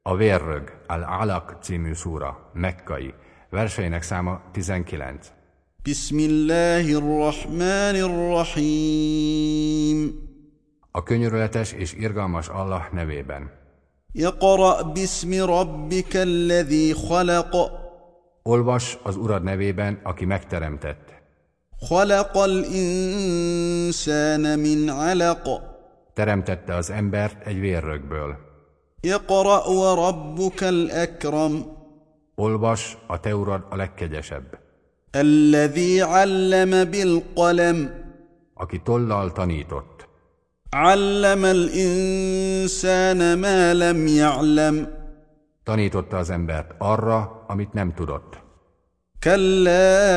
A vérrög, Al-Alaq című szúra, mekkai, verseinek száma 19. Bismillahirrahmanirrahim. A könyörületes és irgalmas Allah nevében. Iqra' bismi rabbika alladhi khalaq. Olvas az Urad nevében, aki megteremtett. Khalaqal insana min 'alaq. Teremtette az embert egy vérrögből. Iqra' wa rabbukal akram. Olvas, a te Urad a legkegyesebb. Alladhi 'allama bil qalam. Aki tollal tanított. Allama al insana ma lam ya'lam. Tanította az embert arra, amit nem tudott. Kalla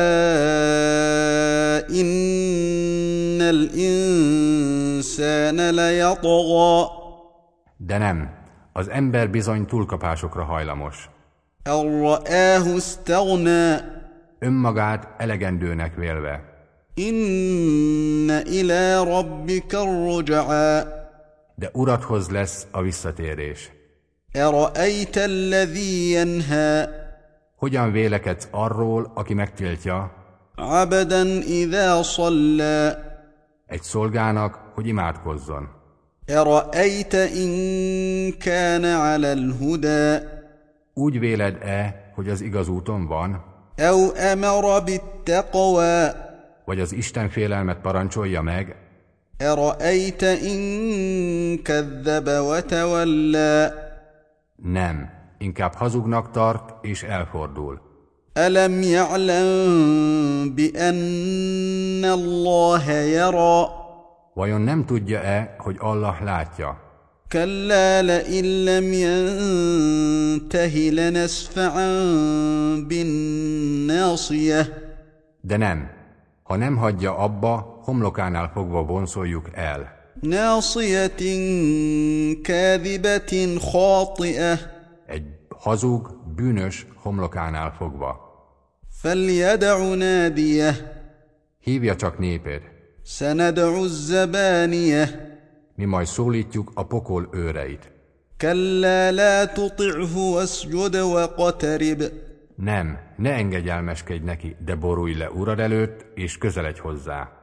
innal insana layatgha. De nem, az ember bizony túlkapásokra hajlamos. An ra'ahu istaghna. Önmagát elegendőnek vélve. Inna ila rabbika ar-ruj'a. De Uradhoz lesz a visszatérés. Ara'ayta alladhi yanha. Hogyan vélekedsz arról, aki megtiltja 'abdan idha salla. egy szolgának, hogy imádkozzon? Ara'ayta in kana 'ala al-huda. Úgy véled-e, hogy az igaz úton van? Aw amara bit-taqwa. Vagy az Isten félelmet parancsolja meg? Ara'ayta in kadhaba wa tawalla. Nem, inkább hazugnak tart és elfordul. Alam ya'lam bi anna Allaha yara. Vajon nem tudja-e, hogy Allah látja? Kalla la in lam yantahi lanasfa'an bin nasiyah. De nem, ha nem hagyja abba, homlokánál fogva vonszoljuk el. Nasiyatin kadhibatin khati'ah. Egy hazug, bűnös homlokánál fogva. Falyad'u nadiyah. Hívja csak néped. Sanad'u az-zabaniyah. Mi majd szólítjuk a pokol őreit. Kalla la tuti'hu wasjud waqtarib. Nem, ne engedelmeskedj neki, de borulj le Urad előtt, és közeledj hozzá.